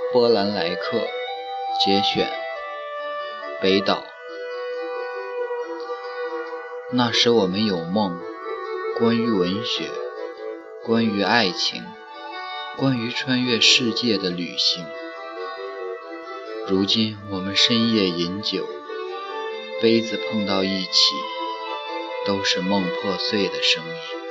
波兰来客节选，北岛。那时我们有梦，关于文学，关于爱情，关于穿越世界的旅行。如今我们深夜饮酒，杯子碰到一起，都是梦破碎的声音。